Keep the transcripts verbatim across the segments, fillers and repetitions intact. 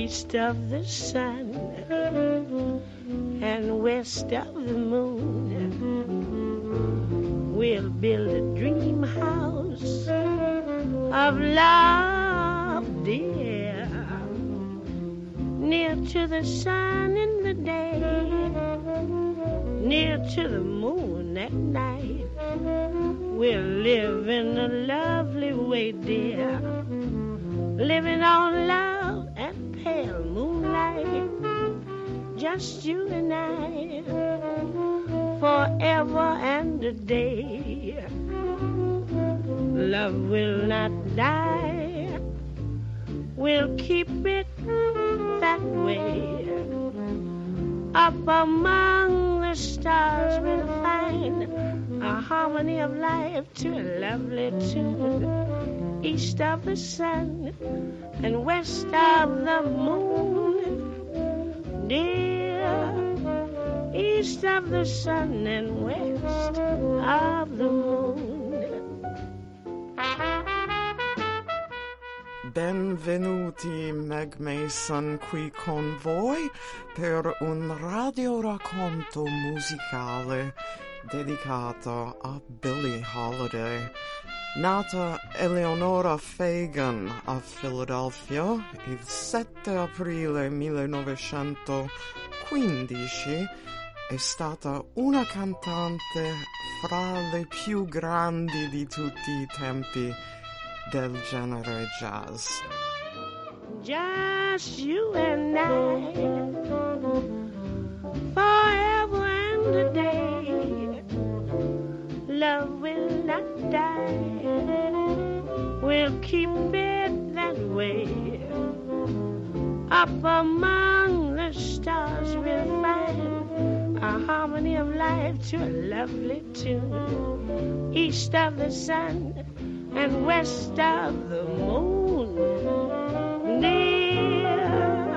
east of the sun and west of the moon. We'll build a dream house of love, dear, near to the sun in the day, near to the moon at night. We'll live in a lovely way, dear, living on love and pale moonlight, just you and I, forever and a day. Love will not die, we'll keep it that way. Up among the stars we'll find a harmony of life to a lovely tune. East of the sun and west of the moon, dear. East of the sun and west of the moon. Benvenuti, Meg Mason qui con voi per un radioracconto musicale dedicato a Billie Holiday. Nata Eleonora Fagan a Philadelphia il sette aprile millenovecentoquindici, è stata una cantante fra le più grandi di tutti i tempi del genere jazz. Just you and I, forever and a day. Love will not die, we'll keep it that way. Up among the stars we'll find a harmony of life to a lovely tune. East of the sun and west of the moon, dear.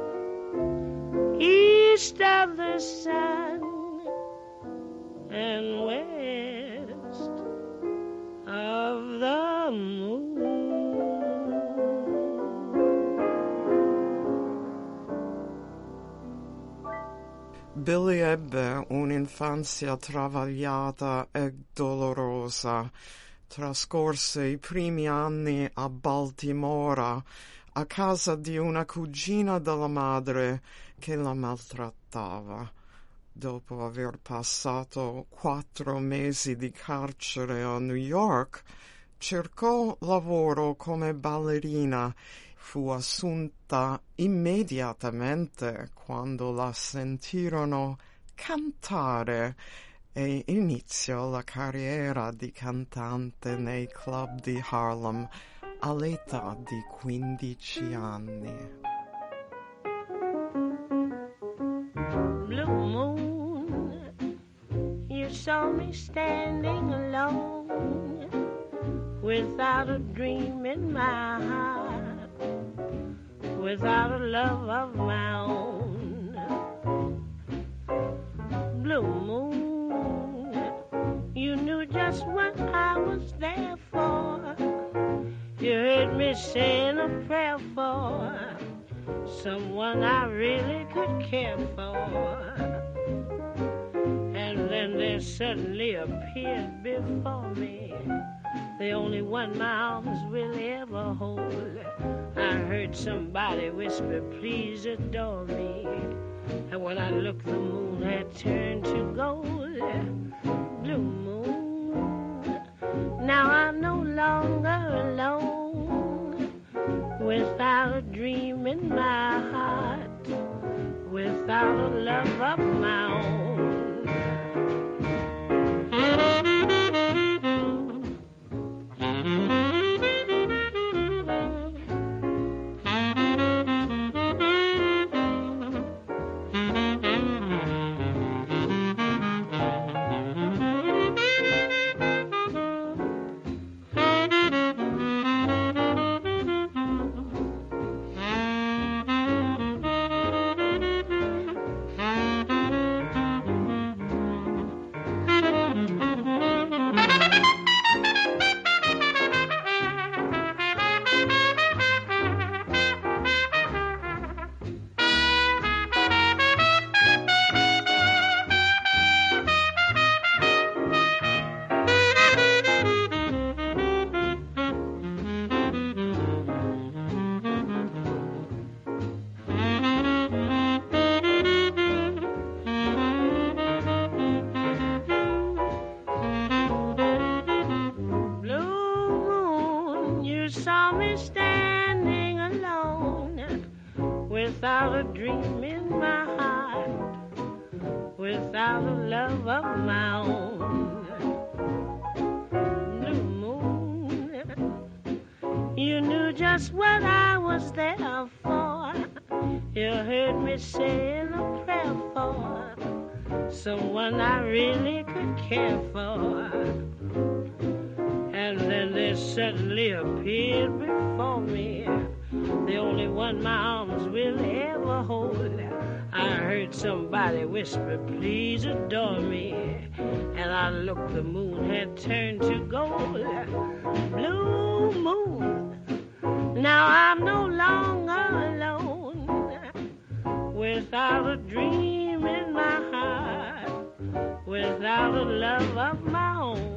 East of the sun and west of the moon. Billie ebbe un'infanzia travagliata e dolorosa. Trascorse i primi anni a Baltimora, a casa di una cugina della madre che la maltrattava. Dopo aver passato quattro mesi di carcere a New York, cercò lavoro come ballerina. Fu assunta immediatamente quando la sentirono cantare e iniziò la carriera di cantante nei club di Harlem all'età di quindici anni. Blue moon, you saw me standing alone, without a dream in my heart, without a love of my own. Blue moon, you knew just what I was there for. You heard me saying a prayer for someone I really could care for. And then there suddenly appeared before me the only one my arms will ever hold. I heard somebody whisper, please adore me. And when I looked, the moon had turned to gold. Blue moon, now I'm no longer alone, without a dream in my heart, without a love of my own. me standing alone, without a dream in my heart, without a love of my own. Blue moon, you knew just what I was there for. You heard me saying a prayer for someone I really could care for. And then they suddenly appeared before me, the only one my arms will ever hold. I heard somebody whisper, please adore me. And I looked, the moon had turned to gold. Blue moon, now I'm no longer alone, without a dream in my heart, without a love of my own.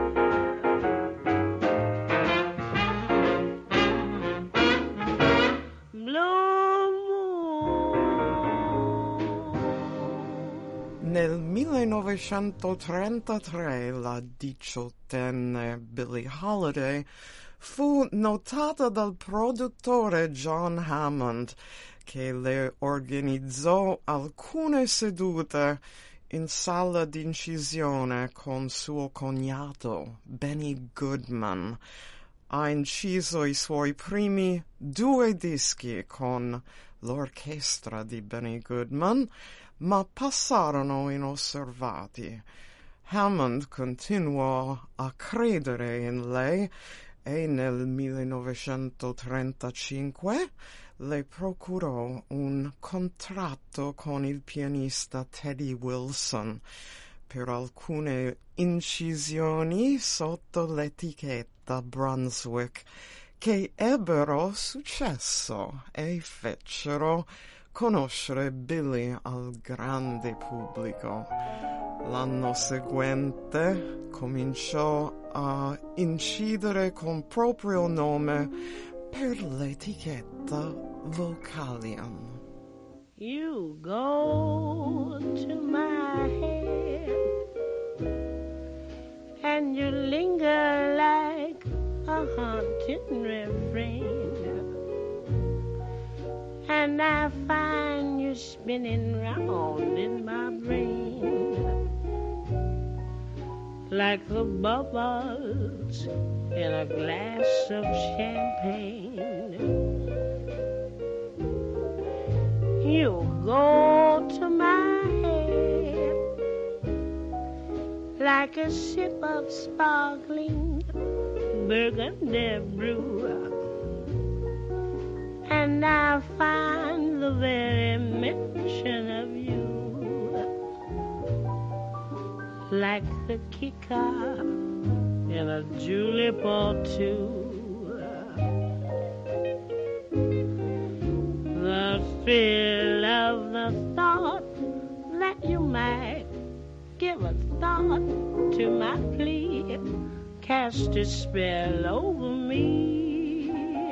Nel millenovecentotrentatré la diciottenne Billie Holiday fu notata dal produttore John Hammond, che le organizzò alcune sedute in sala d'incisione con suo cognato Benny Goodman. Ha inciso i suoi primi due dischi con l'orchestra di Benny Goodman, ma passarono inosservati. Hammond continuò a credere in lei e nel millenovecentotrentacinque le procurò un contratto con il pianista Teddy Wilson per alcune incisioni sotto l'etichetta Brunswick, che ebbero successo e fecero conoscere Billie al grande pubblico. L'anno seguente cominciò a incidere con proprio nome per l'etichetta Vocalion. You go to my head and you linger like a haunting refrain, and I find you spinning round in my brain like the bubbles in a glass of champagne. You go to my head like a sip of sparkling burgundy brew, and I find the very mention of you like the kicker in a julep or two. The thrill of the thought that you might give a thought to my plea cast a spell over me.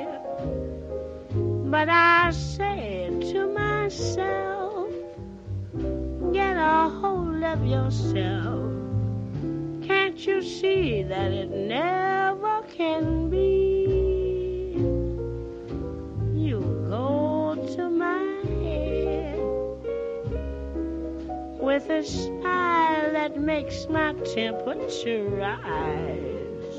But I said to myself, get a hold of yourself. Can't you see that it never can be? You go to my head with a smile that makes my temperature rise,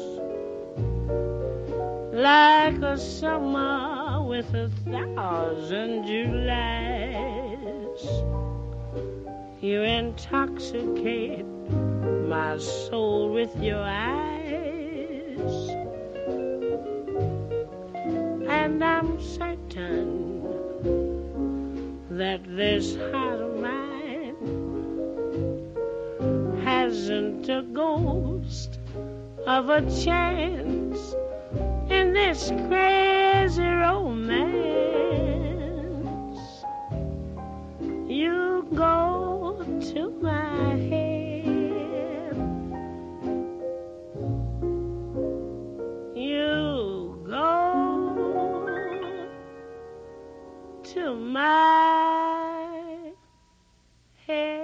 like a summer with a thousand Julys. You intoxicate my soul with your eyes, and I'm certain that this heart of mine hasn't a ghost of a chance in this crazy romance. You go to my head, you go to my head.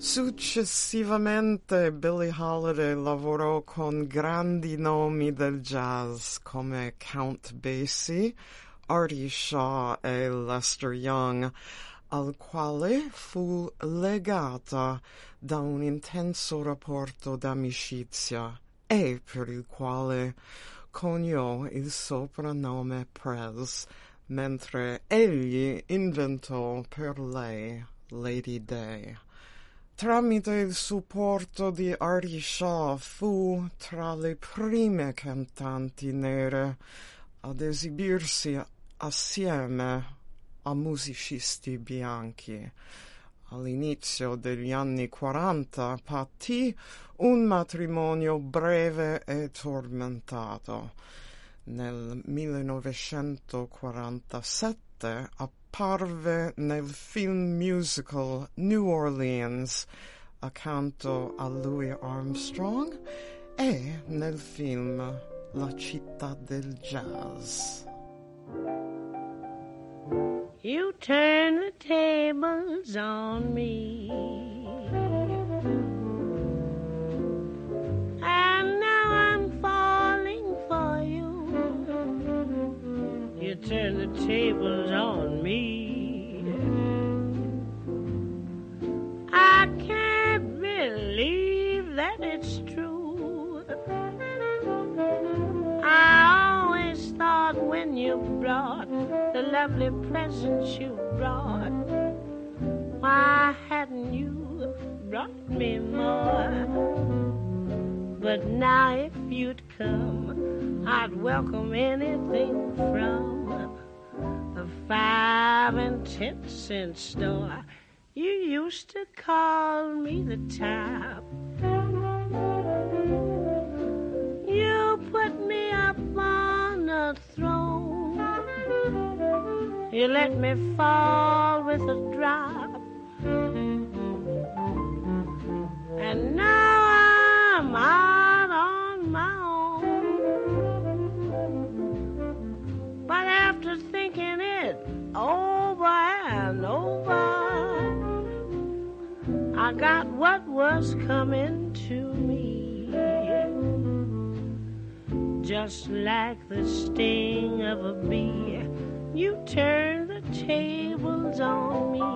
Successivamente Billie Holiday lavorò con grandi nomi del jazz come Count Basie, Artie Shaw e Lester Young, al quale fu legata da un intenso rapporto d'amicizia e per il quale coniò il soprannome Prez, mentre egli inventò per lei Lady Day. Tramite il supporto di Artie Shaw fu tra le prime cantanti nere ad esibirsi assieme a musicisti bianchi. All'inizio degli anni quaranta patì un matrimonio breve e tormentato. Nel millenovecentoquarantasette apparve nel film musical New Orleans accanto a Louis Armstrong e nel film La città del jazz. You turn the tables on me, and now I'm falling for you. You turn the tables on me. I can't believe that it's true. I always thought when you brought the lovely presents you brought, why hadn't you brought me more? But now if you'd come, I'd welcome anything from a five and ten cent store. You used to call me the top. You put me up on a throne. You let me fall with a drop. And now I'm out on my own. But after thinking it over and over, I got what was coming to me. Just like the sting of a bee, you turn the tables on me.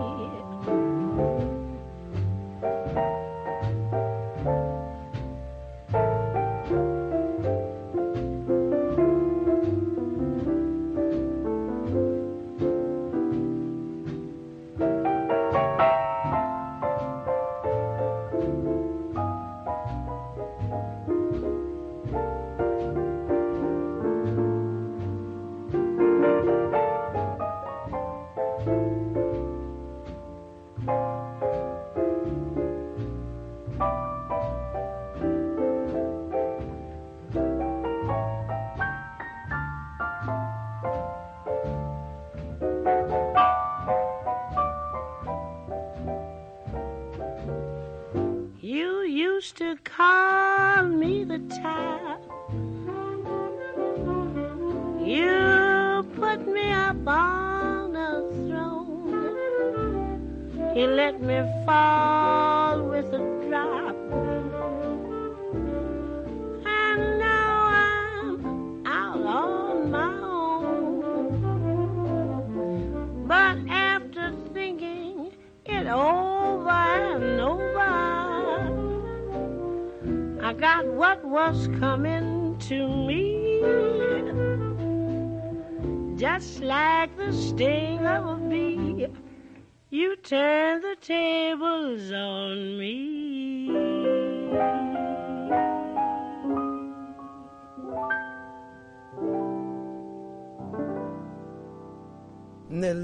To call me the top. You put me up on a throne. You let me fall with a drop. And now I'm out on my own. But after thinking it over and over, I got what was coming to me. Just like the sting of a bee, you turn the tables on me. Nel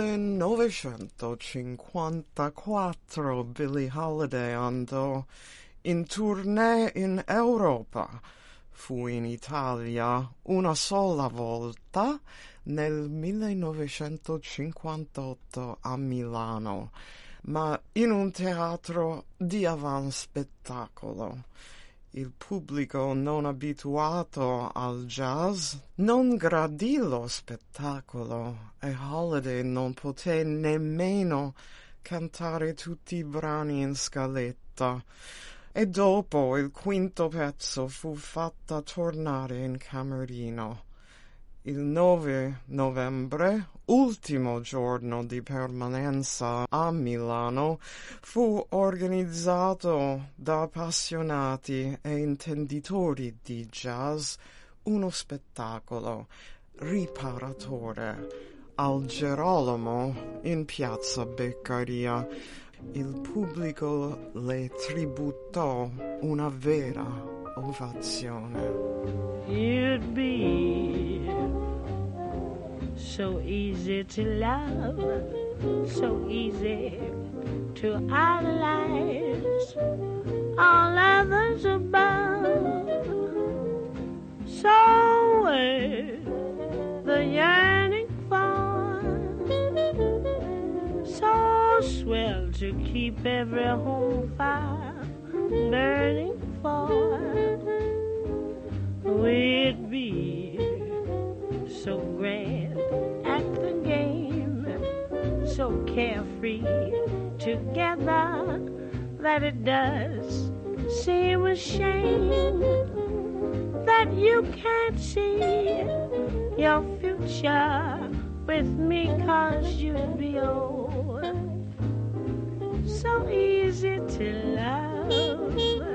millenovecentocinquantaquattro Billie Holiday andò in tournée in Europa. Fu in Italia una sola volta nel millenovecentocinquantotto a Milano, ma in un teatro di avanspettacolo. Il pubblico non abituato al jazz non gradì lo spettacolo e Holiday non poté nemmeno cantare tutti i brani in scaletta. E dopo il quinto pezzo fu fatta tornare in camerino. Il nove novembre, ultimo giorno di permanenza a Milano, fu organizzato da appassionati e intenditori di jazz uno spettacolo riparatore al Gerolamo in piazza Beccaria. Il pubblico le tributò una vera ovazione. You'd be so easy to love, so easy to idolize, all others above. So worth the yearning for, so swell to keep every home fire burning for. We'd be so grand at the game, so carefree together that it does seem a shame that you can't see your future with me, 'cause you'd be old, so easy to love.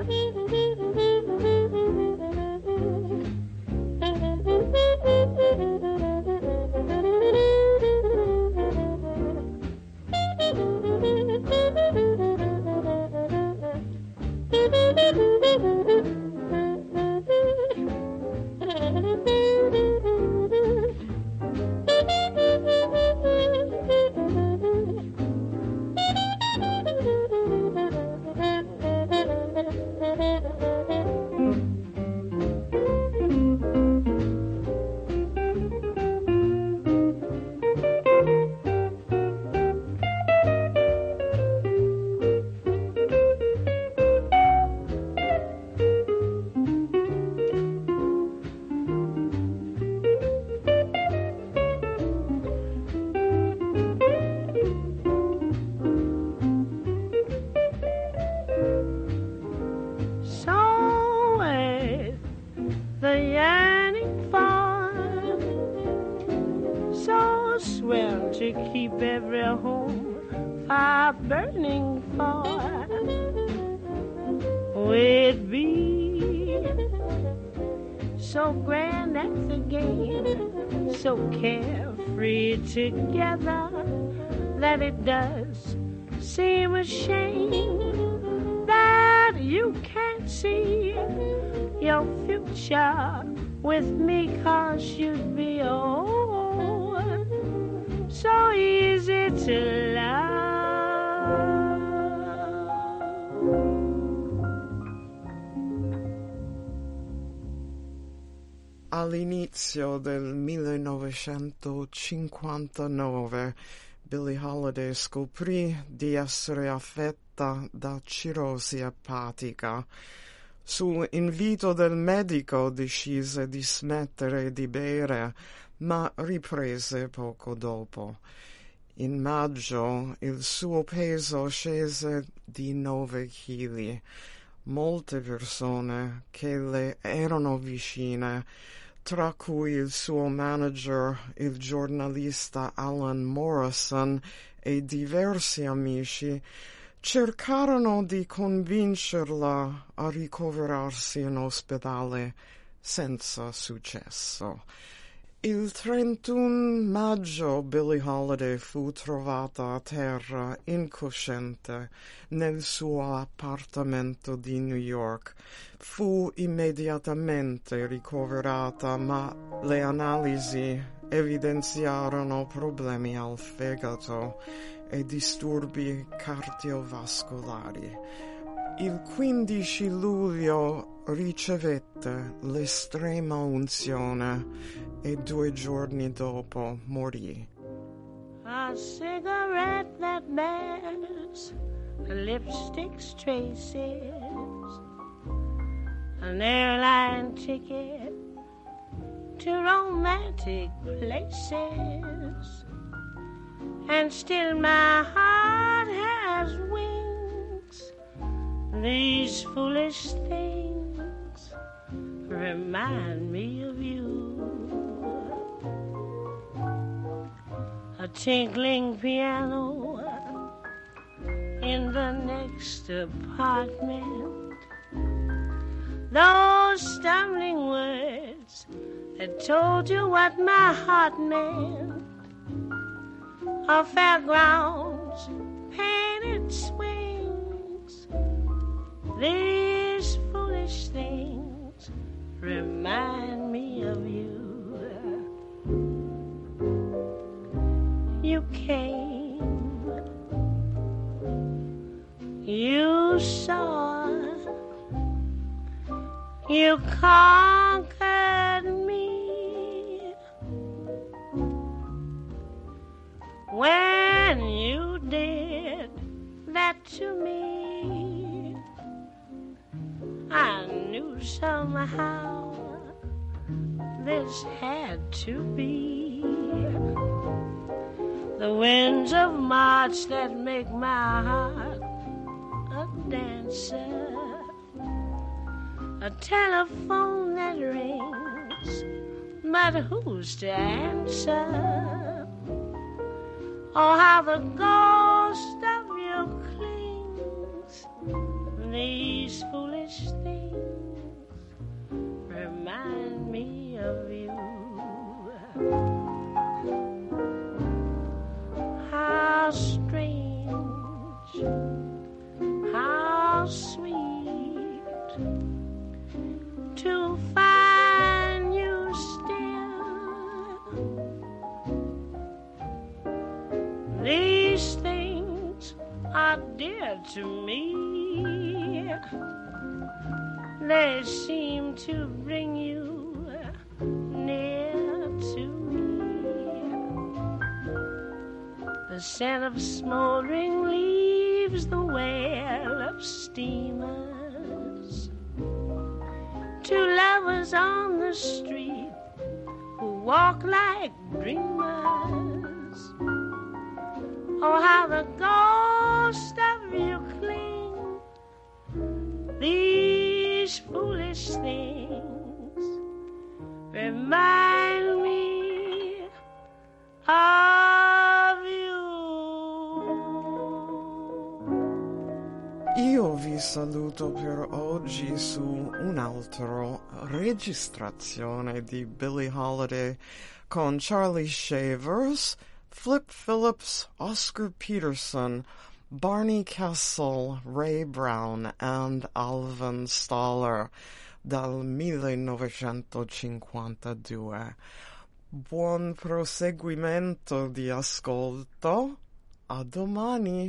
To keep every home fire burning for, we'd be so grand at the game, so carefree together that it does seem a shame that you can't see your future with me, 'cause you'd be old, so easy to love. All'inizio del millenovecentocinquantanove Billie Holiday scoprì di essere affetta da cirrosi epatica. Su invito del medico decise di smettere di bere, ma riprese poco dopo. In maggio il suo peso scese di nove chili. Molte persone che le erano vicine, tra cui il suo manager, il giornalista Alan Morrison e diversi amici, cercarono di convincerla a ricoverarsi in ospedale senza successo. Il trentuno maggio Billie Holiday fu trovata a terra incosciente nel suo appartamento di New York. Fu immediatamente ricoverata, ma le analisi evidenziarono problemi al fegato e disturbi cardiovascolari. Il quindici luglio ricevette l'estrema unzione e due giorni dopo morì. A cigarette that bears lipstick's traces, an airline ticket to romantic places, and still my heart has wings. These foolish things remind me of you. A tinkling piano in the next apartment. Those stumbling words that told you what my heart meant. Our fairgrounds, painted swings. These foolish things remind me of you. You came, you saw, you conquered me. When you did that to me, I knew somehow this had to be. The winds of March that make my heart a dancer. A telephone that rings, but who's to answer? Oh, how the ghost of you clings. These foolish things remind me of you. How strange, how sweet to find you still. These things are dear to me. They seem to bring you near to me. The scent of smoldering leaves, the wail of steamers. Two lovers on the street who walk like dreamers. Oh, how the ghost of you cling. These foolish things remind me of you. Io vi saluto per oggi su un'altra registrazione di Billie Holiday con Charlie Shavers, Flip Phillips, Oscar Peterson, Barney Kessel, Ray Brown and Alvin Stoller dal millenovecentocinquantadue. Buon proseguimento di ascolto. A domani.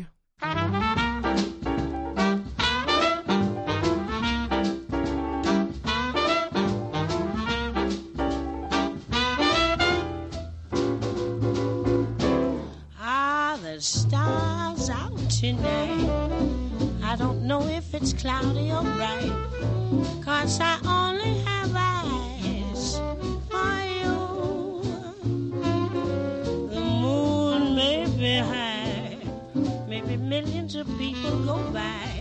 The stars out tonight. I don't know if it's cloudy or bright, 'cause I only have eyes for you. The moon may be high, maybe millions of people go by,